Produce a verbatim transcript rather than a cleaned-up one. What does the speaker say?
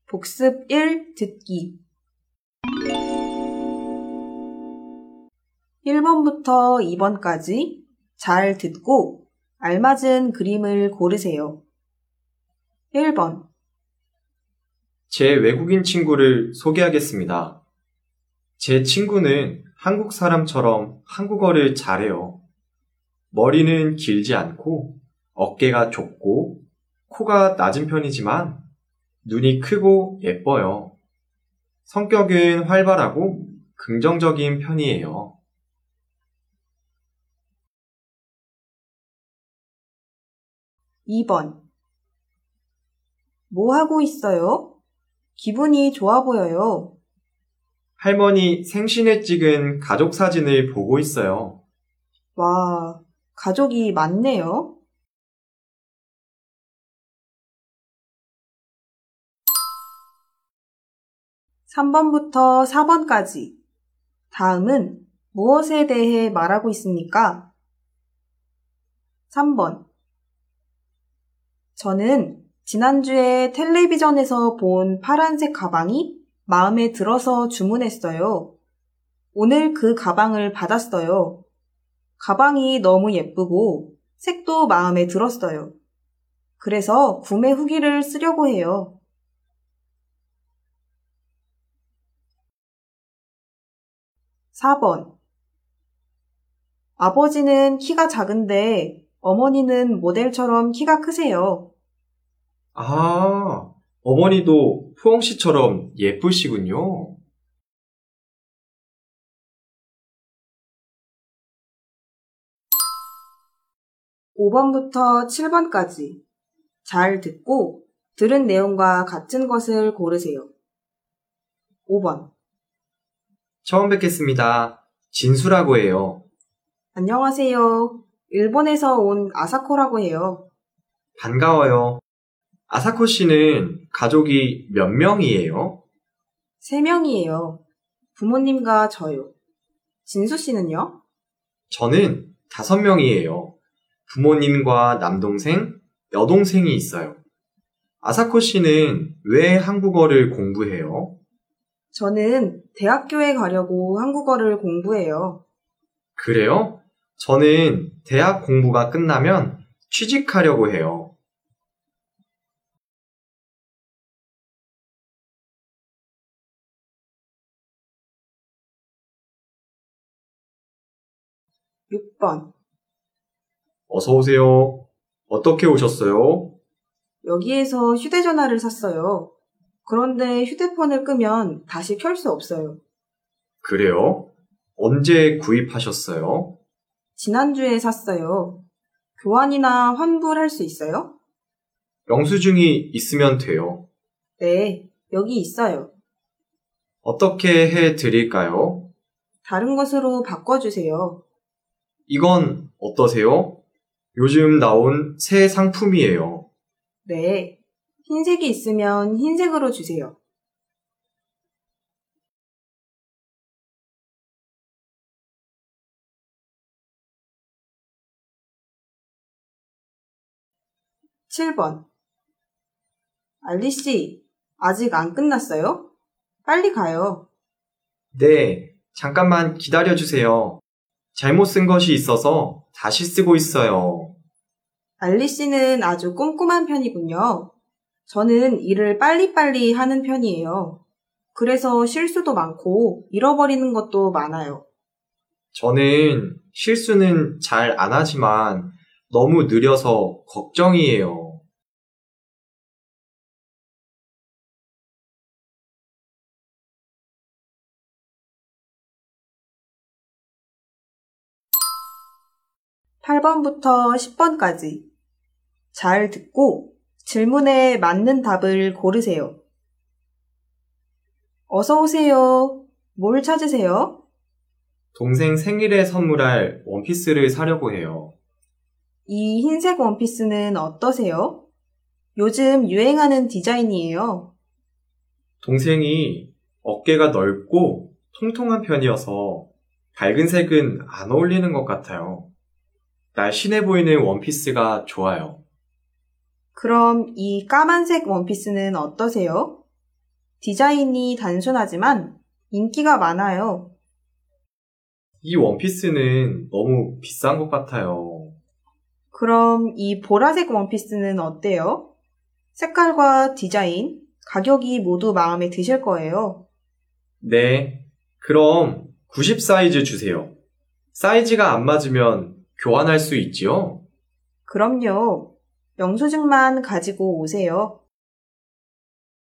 복습 일 듣기 일 번부터 이 번까지 잘 듣고 알맞은 그림을 고르세요. 일 번 제 외국인 친구를 소개하겠습니다. 제 친구는 한국 사람처럼 한국어를 잘해요. 머리는 길지 않고 어깨가 좁고 코가 낮은 편이지만 눈이 크고 예뻐요. 성격은 활발하고 긍정적인 편이에요. 이 번 뭐 하고 있어요? 기분이 좋아 보여요. 할머니 생신에 찍은 가족 사진을 보고 있어요. 와, 가족이 많네요. 삼 번부터 사 번까지 다음은 무엇에 대해 말하고 있습니까? 삼 번 저는 지난주에 텔레비전에서 본 파란색 가방이 마음에 들어서 주문했어요. 오늘 그 가방을 받았어요. 가방이 너무 예쁘고 색도 마음에 들었어요. 그래서 구매 후기를 쓰려고 해요. 사 번 아버지는 키가 작은데 어머니는 모델처럼 키가 크세요. 아, 어머니도 푸엉 씨처럼 예쁘시군요. 오 번부터 칠 번까지 잘 듣고 들은 내용과 같은 것을 고르세요. 오 번 처음 뵙겠습니다. 진수라고 해요. 안녕하세요. 일본에서 온 아사코라고 해요. 반가워요. 아사코 씨는 가족이 몇 명이에요? 세 명이에요. 부모님과 저요. 진수 씨는요? 저는 다섯 명이에요. 부모님과 남동생, 여동생이 있어요. 아사코 씨는 왜 한국어를 공부해요? 저는 대학교에 가려고 한국어를 공부해요. 그래요? 저는 대학 공부가 끝나면 취직하려고 해요. 육 번 어서 오세요. 어떻게 오셨어요? 여기에서 휴대전화를 샀어요. 그런데 휴대폰을 끄면 다시 켤 수 없어요. 그래요? 언제 구입하셨어요? 지난주에 샀어요. 교환이나 환불할 수 있어요? 영수증이 있으면 돼요. 네, 여기 있어요. 어떻게 해 드릴까요? 다른 것으로 바꿔주세요. 이건 어떠세요? 요즘 나온 새 상품이에요. 네, 흰색이 있으면 흰색으로 주세요. 칠 번 알리 씨, 아직 안 끝났어요? 빨리 가요. 네, 잠깐만 기다려주세요. 잘못 쓴 것이 있어서 다시 쓰고 있어요. 알리 씨는 아주 꼼꼼한 편이군요. 저는 일을 빨리빨리 하는 편이에요. 그래서 실수도 많고 잃어버리는 것도 많아요. 저는 실수는 잘 안 하지만 너무 느려서 걱정이에요. 팔 번부터 십 번까지 잘 듣고 질문에 맞는 답을 고르세요. 어서 오세요. 뭘 찾으세요? 동생 생일에 선물할 원피스를 사려고 해요. 이 흰색 원피스는 어떠세요? 요즘 유행하는 디자인이에요. 동생이 어깨가 넓고 통통한 편이어서 밝은 색은 안 어울리는 것 같아요. 날씬해 보이는 원피스가 좋아요. 그럼 이 까만색 원피스는 어떠세요? 디자인이 단순하지만 인기가 많아요. 이 원피스는 너무 비싼 것 같아요. 그럼 이 보라색 원피스는 어때요? 색깔과 디자인, 가격이 모두 마음에 드실 거예요. 네, 그럼 구십 사이즈 주세요. 사이즈가 안 맞으면 교환할 수 있지요? 그럼요. 영수증만 가지고 오세요.